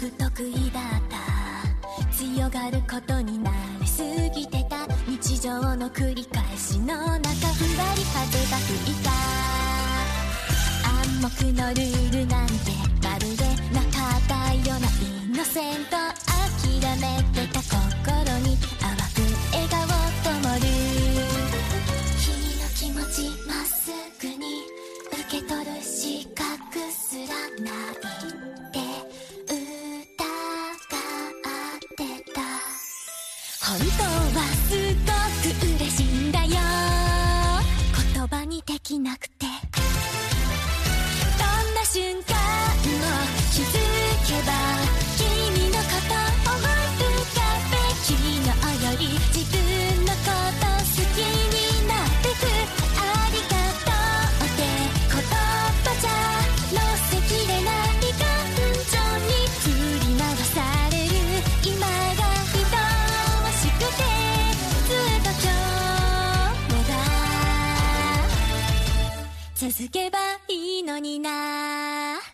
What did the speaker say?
不得意だった。強がることに慣れすぎてた。日常の繰り返しの中、ふわり風が吹いた。暗黙のルールなんてまるでなかったようなイノセント。諦めてた心に淡く笑顔灯る。君の気持ちまっすぐに受け取る資格すらないって疑ってた。本当はすごく嬉しいんだよ、言葉にできなくて。どんな瞬間も気づけば君のこと思い浮かべ、昨日より自分のこと好きになってく。ありがとうって言葉じゃ乗せきれない感情に振り回される今が愛しくて、ずっと今日もが続けばいいのにな。